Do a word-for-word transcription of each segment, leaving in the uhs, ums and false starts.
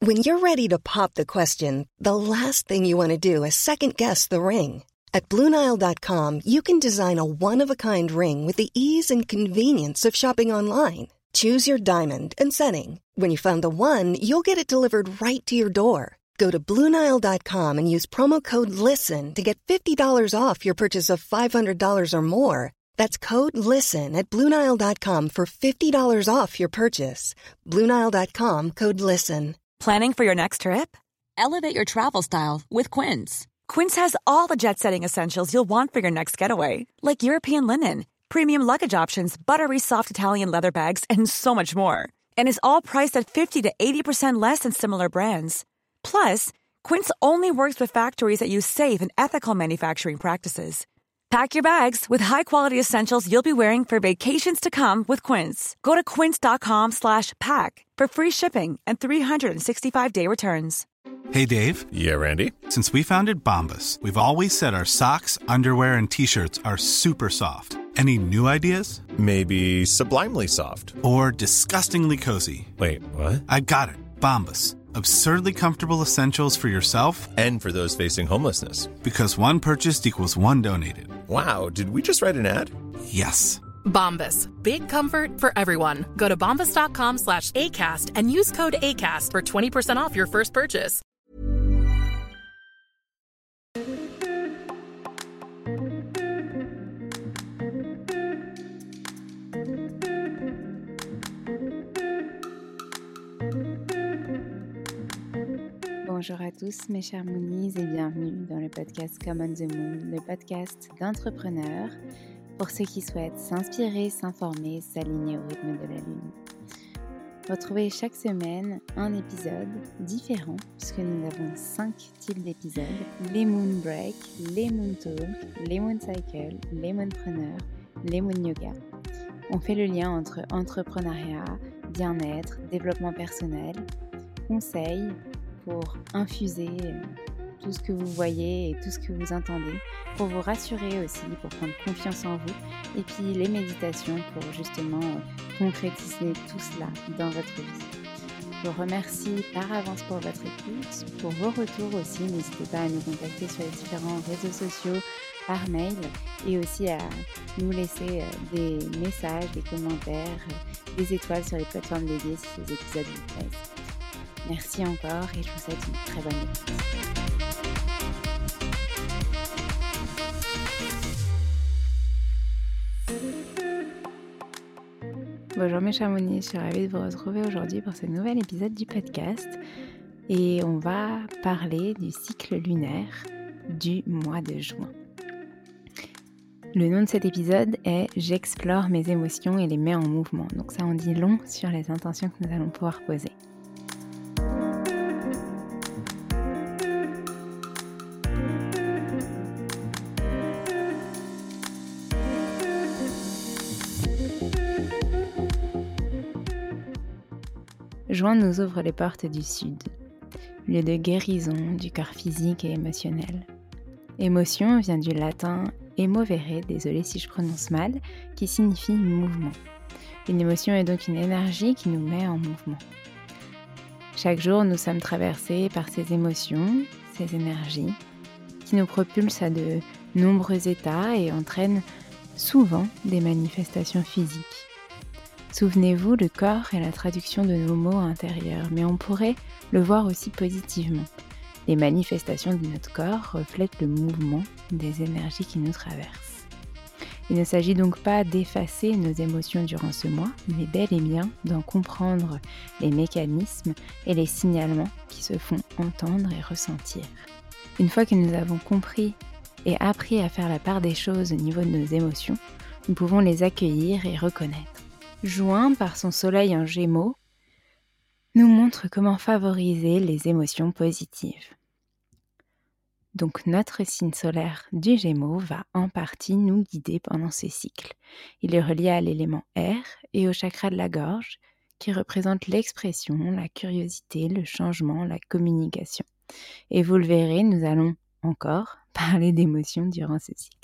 When you're ready to pop the question, the last thing you want to do is second-guess the ring. At Blue Nile dot com, you can design a one-of-a-kind ring with the ease and convenience of shopping online. Choose your diamond and setting. When you find the one, you'll get it delivered right to your door. Go to Blue Nile dot com and use promo code LISTEN to get fifty dollars off your purchase of five hundred dollars or more. That's code LISTEN at Blue Nile dot com for fifty dollars off your purchase. Blue Nile dot com, code LISTEN. Planning for your next trip? Elevate your travel style with Quince. Quince has all the jet-setting essentials you'll want for your next getaway, like European linen, premium luggage options, buttery soft Italian leather bags, and so much more. And is all priced at fifty to eighty percent less than similar brands. Plus, Quince only works with factories that use safe and ethical manufacturing practices. Pack your bags with high-quality essentials you'll be wearing for vacations to come with Quince. Go to quince.com slash pack for free shipping and three sixty-five day returns. Hey, Dave. Yeah, Randy. Since we founded Bombas, we've always said our socks, underwear, and T-shirts are super soft. Any new ideas? Maybe sublimely soft. Or disgustingly cozy. Wait, what? I got it. Bombas. Absurdly comfortable essentials for yourself and for those facing homelessness. Because one purchased equals one donated. Wow, did we just write an ad? Yes. Bombas. Big comfort for everyone. Go to bombas.com slash ACAST and use code ACAST for twenty percent off your first purchase. Bonjour à tous mes chers Moonies et bienvenue dans le podcast Come on the Moon, le podcast d'entrepreneurs pour ceux qui souhaitent s'inspirer, s'informer, s'aligner au rythme de la Lune. Retrouvez chaque semaine un épisode différent puisque nous avons cinq types d'épisodes, les Moon Break, les Moon Talk, les Moon Cycle, les Moonpreneurs, les Moon Yoga. On fait le lien entre entrepreneuriat, bien-être, développement personnel, conseils, pour infuser tout ce que vous voyez et tout ce que vous entendez, pour vous rassurer aussi, pour prendre confiance en vous, et puis les méditations pour justement concrétiser tout cela dans votre vie. Je vous remercie par avance pour votre écoute, pour vos retours aussi, n'hésitez pas à nous contacter sur les différents réseaux sociaux, par mail, et aussi à nous laisser des messages, des commentaires, des étoiles sur les plateformes dédiées si ces épisodes vous plaisent. Merci encore et je vous souhaite une très bonne écoute. Bonjour mes chers Moonies, je suis ravie de vous retrouver aujourd'hui pour ce nouvel épisode du podcast et on va parler du cycle lunaire du mois de juin. Le nom de cet épisode est « J'explore mes émotions et les mets en mouvement ». Donc ça en dit long sur les intentions que nous allons pouvoir poser. Juin nous ouvre les portes du Sud, lieu de guérison du corps physique et émotionnel. Émotion vient du latin emovere, désolé si je prononce mal, qui signifie mouvement. Une émotion est donc une énergie qui nous met en mouvement. Chaque jour, nous sommes traversés par ces émotions, ces énergies, qui nous propulsent à de nombreux états et entraînent souvent des manifestations physiques. Souvenez-vous, le corps est la traduction de nos mots intérieurs, mais on pourrait le voir aussi positivement. Les manifestations de notre corps reflètent le mouvement des énergies qui nous traversent. Il ne s'agit donc pas d'effacer nos émotions durant ce mois, mais bel et bien d'en comprendre les mécanismes et les signalements qui se font entendre et ressentir. Une fois que nous avons compris et appris à faire la part des choses au niveau de nos émotions, nous pouvons les accueillir et reconnaître. Juin, par son soleil en Gémeaux, nous montre comment favoriser les émotions positives. Donc notre signe solaire du Gémeaux va en partie nous guider pendant ce cycle. Il est relié à l'élément air et au chakra de la gorge, qui représente l'expression, la curiosité, le changement, la communication. Et vous le verrez, nous allons encore parler d'émotions durant ce cycle.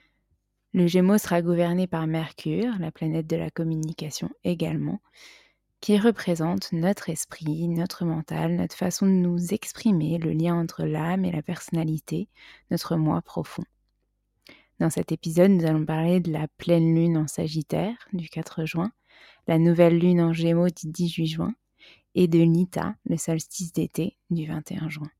Le Gémeaux sera gouverné par Mercure, la planète de la communication également, qui représente notre esprit, notre mental, notre façon de nous exprimer, le lien entre l'âme et la personnalité, notre moi profond. Dans cet épisode, nous allons parler de la pleine lune en Sagittaire du quatre juin, la nouvelle lune en Gémeaux du dix-huit juin et de Nita, le solstice d'été du vingt et un juin.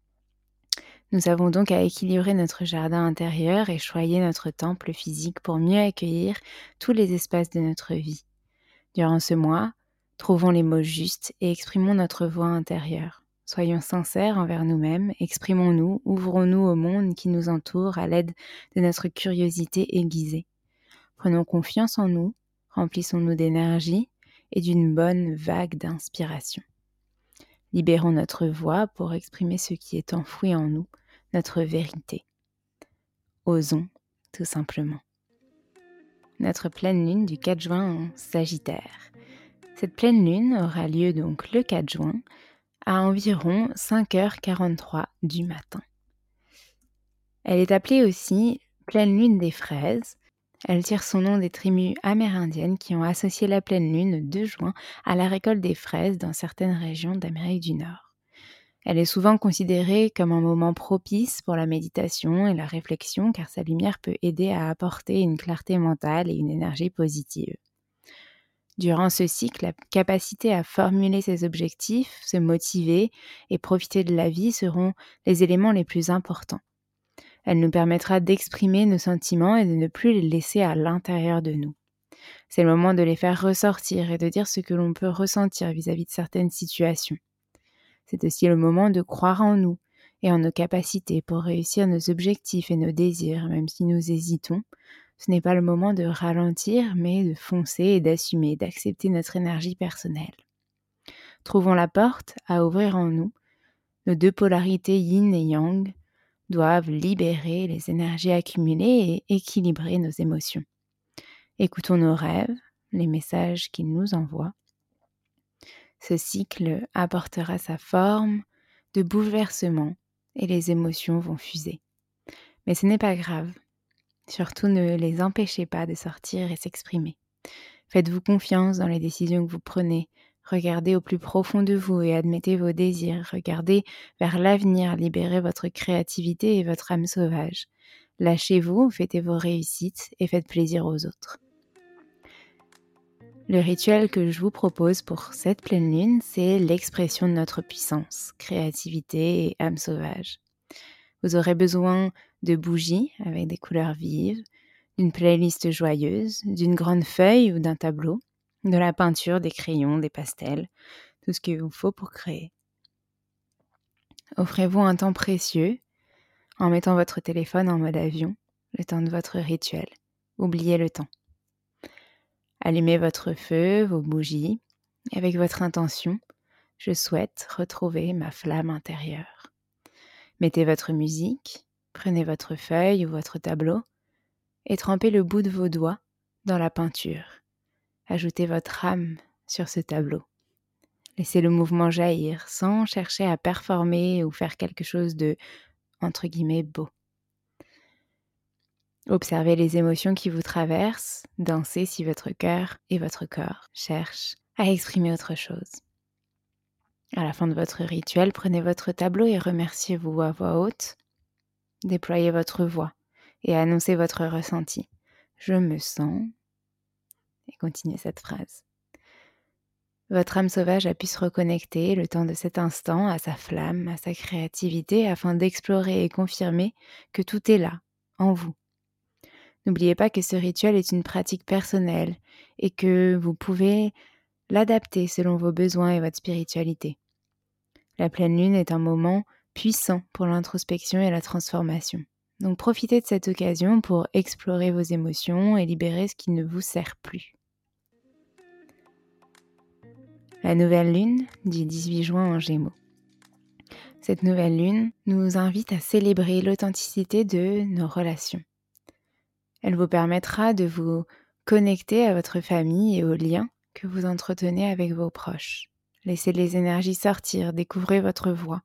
Nous avons donc à équilibrer notre jardin intérieur et choyer notre temple physique pour mieux accueillir tous les espaces de notre vie. Durant ce mois, trouvons les mots justes et exprimons notre voix intérieure. Soyons sincères envers nous-mêmes, exprimons-nous, ouvrons-nous au monde qui nous entoure à l'aide de notre curiosité aiguisée. Prenons confiance en nous, remplissons-nous d'énergie et d'une bonne vague d'inspiration. Libérons notre voix pour exprimer ce qui est enfoui en nous, notre vérité. Osons, tout simplement. Notre pleine lune du quatre juin en Sagittaire. Cette pleine lune aura lieu donc le quatre juin à environ cinq heures quarante-trois du matin. Elle est appelée aussi pleine lune des fraises. Elle tire son nom des tribus amérindiennes qui ont associé la pleine lune de juin à la récolte des fraises dans certaines régions d'Amérique du Nord. Elle est souvent considérée comme un moment propice pour la méditation et la réflexion car sa lumière peut aider à apporter une clarté mentale et une énergie positive. Durant ce cycle, la capacité à formuler ses objectifs, se motiver et profiter de la vie seront les éléments les plus importants. Elle nous permettra d'exprimer nos sentiments et de ne plus les laisser à l'intérieur de nous. C'est le moment de les faire ressortir et de dire ce que l'on peut ressentir vis-à-vis de certaines situations. C'est aussi le moment de croire en nous et en nos capacités pour réussir nos objectifs et nos désirs, même si nous hésitons. Ce n'est pas le moment de ralentir, mais de foncer et d'assumer, d'accepter notre énergie personnelle. Trouvons la porte à ouvrir en nous. Nos deux polarités yin et yang doivent libérer les énergies accumulées et équilibrer nos émotions. Écoutons nos rêves, les messages qu'ils nous envoient. Ce cycle apportera sa forme de bouleversement et les émotions vont fuser. Mais ce n'est pas grave. Surtout ne les empêchez pas de sortir et s'exprimer. Faites-vous confiance dans les décisions que vous prenez. Regardez au plus profond de vous et admettez vos désirs. Regardez vers l'avenir, libérez votre créativité et votre âme sauvage. Lâchez-vous, fêtez vos réussites et faites plaisir aux autres. Le rituel que je vous propose pour cette pleine lune, c'est l'expression de notre puissance, créativité et âme sauvage. Vous aurez besoin de bougies avec des couleurs vives, d'une playlist joyeuse, d'une grande feuille ou d'un tableau, de la peinture, des crayons, des pastels, tout ce qu'il vous faut pour créer. Offrez-vous un temps précieux en mettant votre téléphone en mode avion, le temps de votre rituel. Oubliez le temps. Allumez votre feu, vos bougies, et avec votre intention, je souhaite retrouver ma flamme intérieure. Mettez votre musique, prenez votre feuille ou votre tableau et trempez le bout de vos doigts dans la peinture. Ajoutez votre âme sur ce tableau. Laissez le mouvement jaillir sans chercher à performer ou faire quelque chose de, entre guillemets, beau. Observez les émotions qui vous traversent, dansez si votre cœur et votre corps cherchent à exprimer autre chose. À la fin de votre rituel, prenez votre tableau et remerciez-vous à voix haute. Déployez votre voix et annoncez votre ressenti. Je me sens... Et continuez cette phrase. Votre âme sauvage a pu se reconnecter le temps de cet instant à sa flamme, à sa créativité, afin d'explorer et confirmer que tout est là, en vous. N'oubliez pas que ce rituel est une pratique personnelle et que vous pouvez l'adapter selon vos besoins et votre spiritualité. La pleine lune est un moment puissant pour l'introspection et la transformation. Donc profitez de cette occasion pour explorer vos émotions et libérer ce qui ne vous sert plus. La nouvelle lune du dix-huit juin en Gémeaux. Cette nouvelle lune nous invite à célébrer l'authenticité de nos relations. Elle vous permettra de vous connecter à votre famille et aux liens que vous entretenez avec vos proches. Laissez les énergies sortir, découvrez votre voix.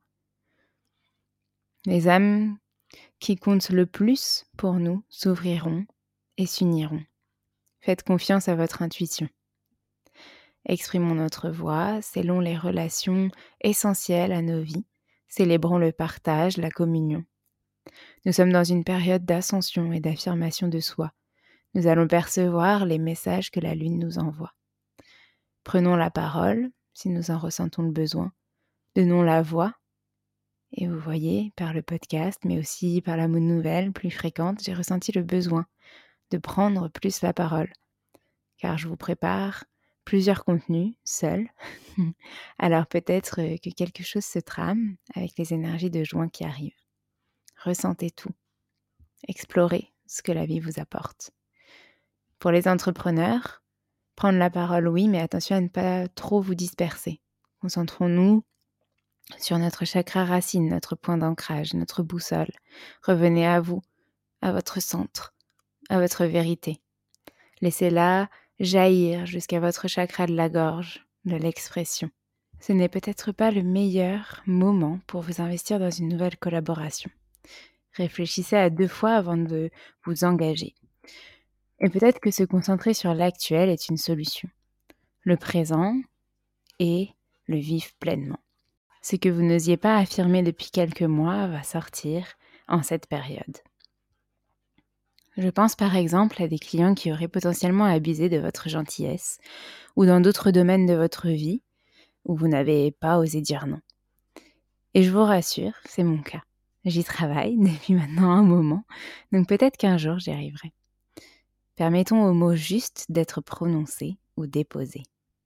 Les âmes qui comptent le plus pour nous s'ouvriront et s'uniront. Faites confiance à votre intuition. Exprimons notre voix, scellons les relations essentielles à nos vies, célébrons le partage, la communion. Nous sommes dans une période d'ascension et d'affirmation de soi. Nous allons percevoir les messages que la Lune nous envoie. Prenons la parole, si nous en ressentons le besoin. Donnons la voix. Et vous voyez, par le podcast, mais aussi par la mood nouvelle plus fréquente, j'ai ressenti le besoin de prendre plus la parole. Car je vous prépare plusieurs contenus, seuls. Alors peut-être que quelque chose se trame avec les énergies de juin qui arrivent. Ressentez tout. Explorez ce que la vie vous apporte. Pour les entrepreneurs, prendre la parole, oui, mais attention à ne pas trop vous disperser. Concentrons-nous sur notre chakra racine, notre point d'ancrage, notre boussole. Revenez à vous, à votre centre, à votre vérité. Laissez-la jaillir jusqu'à votre chakra de la gorge, de l'expression. Ce n'est peut-être pas le meilleur moment pour vous investir dans une nouvelle collaboration. Réfléchissez à deux fois avant de vous engager. Et peut-être que se concentrer sur l'actuel est une solution. Le présent et le vivre pleinement. Ce que vous n'osiez pas affirmer depuis quelques mois va sortir en cette période. Je pense par exemple à des clients qui auraient potentiellement abusé de votre gentillesse ou dans d'autres domaines de votre vie où vous n'avez pas osé dire non. Et je vous rassure, c'est mon cas. J'y travaille depuis maintenant un moment, donc peut-être qu'un jour j'y arriverai. Permettons aux mots justes d'être prononcés ou déposés.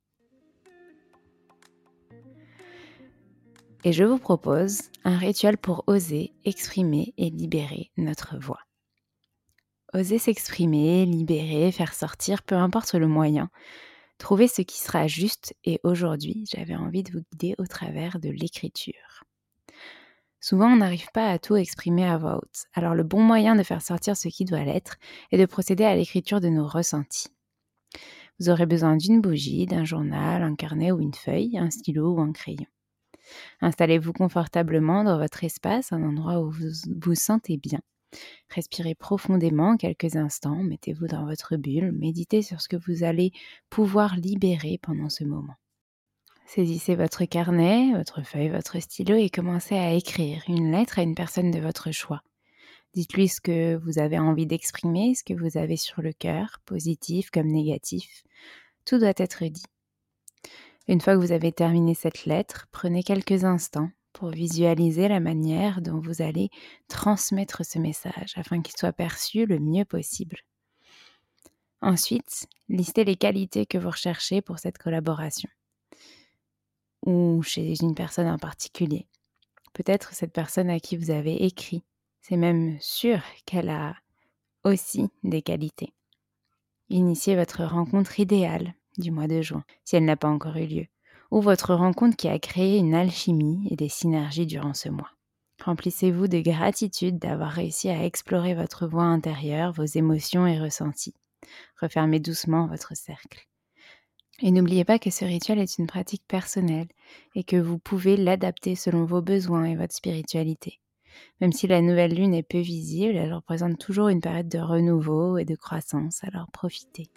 Et je vous propose un rituel pour oser exprimer et libérer notre voix. Oser s'exprimer, libérer, faire sortir, peu importe le moyen. Trouvez ce qui sera juste et aujourd'hui, j'avais envie de vous guider au travers de l'écriture. Souvent, on n'arrive pas à tout exprimer à voix haute. Alors le bon moyen de faire sortir ce qui doit l'être est de procéder à l'écriture de nos ressentis. Vous aurez besoin d'une bougie, d'un journal, un carnet ou une feuille, un stylo ou un crayon. Installez-vous confortablement dans votre espace, un endroit où vous vous sentez bien. Respirez profondément quelques instants, mettez-vous dans votre bulle, méditez sur ce que vous allez pouvoir libérer pendant ce moment. Saisissez votre carnet, votre feuille, votre stylo et commencez à écrire une lettre à une personne de votre choix. Dites-lui ce que vous avez envie d'exprimer, ce que vous avez sur le cœur, positif comme négatif. Tout doit être dit. Une fois que vous avez terminé cette lettre, prenez quelques instants pour visualiser la manière dont vous allez transmettre ce message afin qu'il soit perçu le mieux possible. Ensuite, listez les qualités que vous recherchez pour cette collaboration ou chez une personne en particulier. Peut-être cette personne à qui vous avez écrit. C'est même sûr qu'elle a aussi des qualités. Initiez votre rencontre idéale du mois de juin, si elle n'a pas encore eu lieu, ou votre rencontre qui a créé une alchimie et des synergies durant ce mois. Remplissez-vous de gratitude d'avoir réussi à explorer votre voix intérieure, vos émotions et ressentis. Refermez doucement votre cercle. Et n'oubliez pas que ce rituel est une pratique personnelle et que vous pouvez l'adapter selon vos besoins et votre spiritualité. Même si la nouvelle lune est peu visible, elle représente toujours une période de renouveau et de croissance, alors profitez.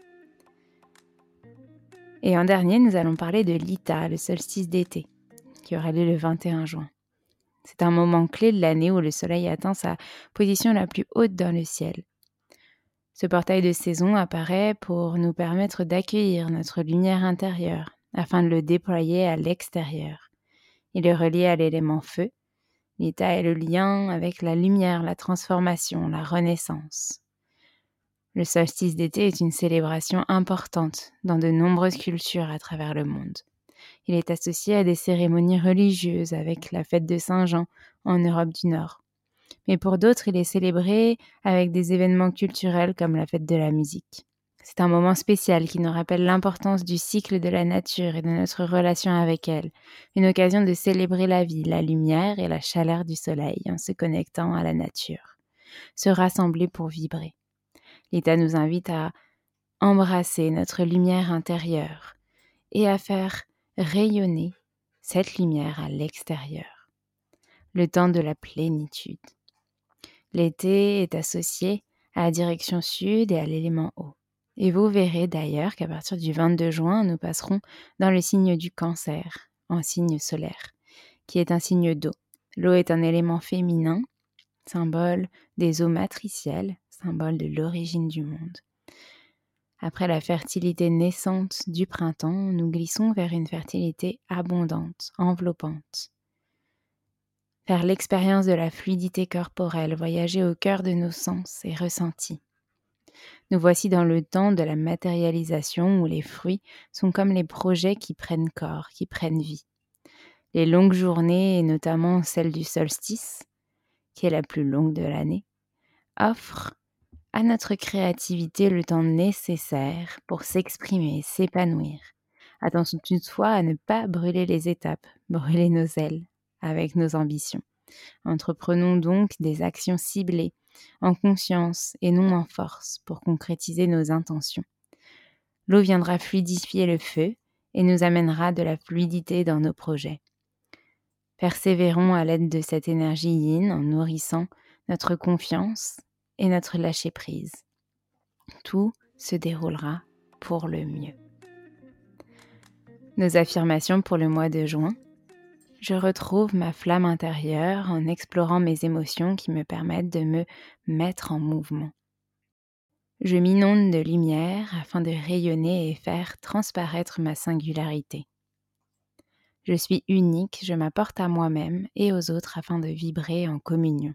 Et en dernier, nous allons parler de l'Ita, le solstice d'été, qui aura lieu le vingt et un juin. C'est un moment clé de l'année où le soleil atteint sa position la plus haute dans le ciel. Ce portail de saison apparaît pour nous permettre d'accueillir notre lumière intérieure afin de le déployer à l'extérieur. Il est relié à l'élément feu. L'Ita est le lien avec la lumière, la transformation, la renaissance. Le solstice d'été est une célébration importante dans de nombreuses cultures à travers le monde. Il est associé à des cérémonies religieuses avec la fête de Saint-Jean en Europe du Nord. Mais pour d'autres, il est célébré avec des événements culturels comme la fête de la musique. C'est un moment spécial qui nous rappelle l'importance du cycle de la nature et de notre relation avec elle. Une occasion de célébrer la vie, la lumière et la chaleur du soleil en se connectant à la nature. Se rassembler pour vibrer. L'Ita nous invite à embrasser notre lumière intérieure et à faire rayonner cette lumière à l'extérieur. Le temps de la plénitude. L'été est associé à la direction sud et à l'élément eau. Et vous verrez d'ailleurs qu'à partir du vingt-deux juin, nous passerons dans le signe du Cancer, en signe solaire, qui est un signe d'eau. L'eau est un élément féminin, symbole des eaux matricielles, symbole de l'origine du monde. Après la fertilité naissante du printemps, nous glissons vers une fertilité abondante, enveloppante. Faire l'expérience de la fluidité corporelle, voyager au cœur de nos sens et ressentis. Nous voici dans le temps de la matérialisation où les fruits sont comme les projets qui prennent corps, qui prennent vie. Les longues journées, et notamment celle du solstice, qui est la plus longue de l'année, offrent à notre créativité le temps nécessaire pour s'exprimer, s'épanouir. Attention toutefois à ne pas brûler les étapes, brûler nos ailes avec nos ambitions. Entreprenons donc des actions ciblées, en conscience et non en force, pour concrétiser nos intentions. L'eau viendra fluidifier le feu et nous amènera de la fluidité dans nos projets. Persévérons à l'aide de cette énergie yin en nourrissant notre confiance et notre lâcher-prise. Tout se déroulera pour le mieux. Nos affirmations pour le mois de juin. Je retrouve ma flamme intérieure en explorant mes émotions qui me permettent de me mettre en mouvement. Je m'inonde de lumière afin de rayonner et faire transparaître ma singularité. Je suis unique, je m'apporte à moi-même et aux autres afin de vibrer en communion.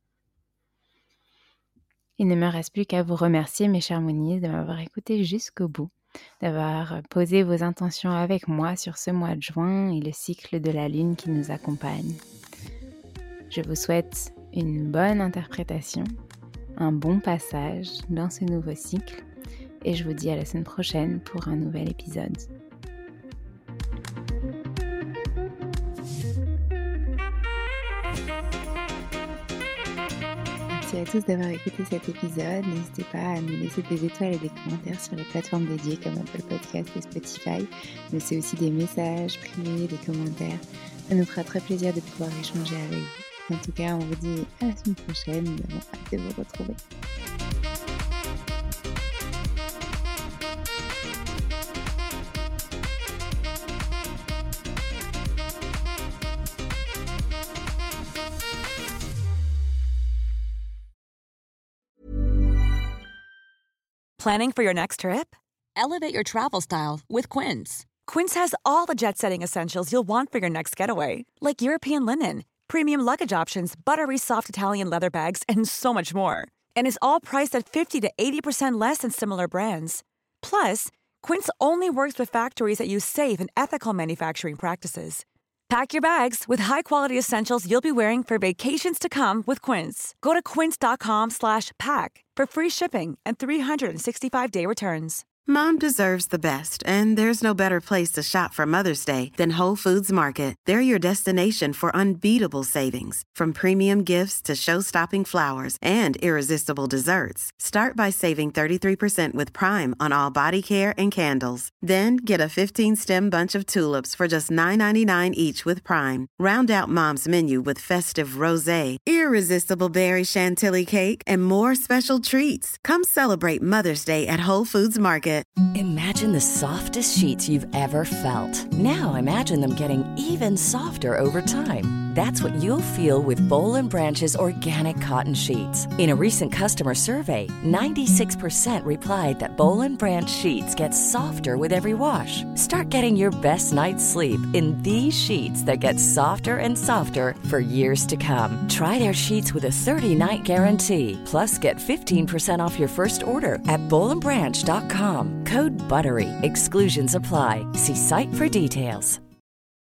Il ne me reste plus qu'à vous remercier, mes chers Moonies, de m'avoir écouté jusqu'au bout, d'avoir posé vos intentions avec moi sur ce mois de juin et le cycle de la lune qui nous accompagne. Je vous souhaite une bonne interprétation, un bon passage dans ce nouveau cycle et je vous dis à la semaine prochaine pour un nouvel épisode. Merci à tous d'avoir écouté cet épisode. N'hésitez pas à nous laisser des étoiles et des commentaires sur les plateformes dédiées comme Apple Podcast et Spotify. Mais c'est aussi des messages privés, des commentaires. Ça nous fera très plaisir de pouvoir échanger avec vous. En tout cas, on vous dit à la semaine prochaine. Nous avons hâte de vous retrouver. Planning for your next trip? Elevate your travel style with Quince. Quince has all the jet-setting essentials you'll want for your next getaway, like European linen, premium luggage options, buttery soft Italian leather bags, and so much more. And is all priced at fifty to eighty percent less than similar brands. Plus, Quince only works with factories that use safe and ethical manufacturing practices. Pack your bags with high-quality essentials you'll be wearing for vacations to come with Quince. Go to quince.com slash pack for free shipping and three sixty-five day returns. Mom deserves the best, and there's no better place to shop for Mother's Day than Whole Foods Market. They're your destination for unbeatable savings, from premium gifts to show-stopping flowers and irresistible desserts. Start by saving thirty-three percent with Prime on all body care and candles. Then get a fifteen-stem bunch of tulips for just nine ninety-nine each with Prime. Round out Mom's menu with festive rosé, irresistible berry chantilly cake, and more special treats. Come celebrate Mother's Day at Whole Foods Market. Imagine the softest sheets you've ever felt. Now imagine them getting even softer over time. That's what you'll feel with Boll and Branch's organic cotton sheets. In a recent customer survey, ninety-six percent replied that Boll and Branch sheets get softer with every wash. Start getting your best night's sleep in these sheets that get softer and softer for years to come. Try their sheets with a thirty-night guarantee. Plus, get fifteen percent off your first order at boll and branch dot com. Code BUTTERY. Exclusions apply. See site for details.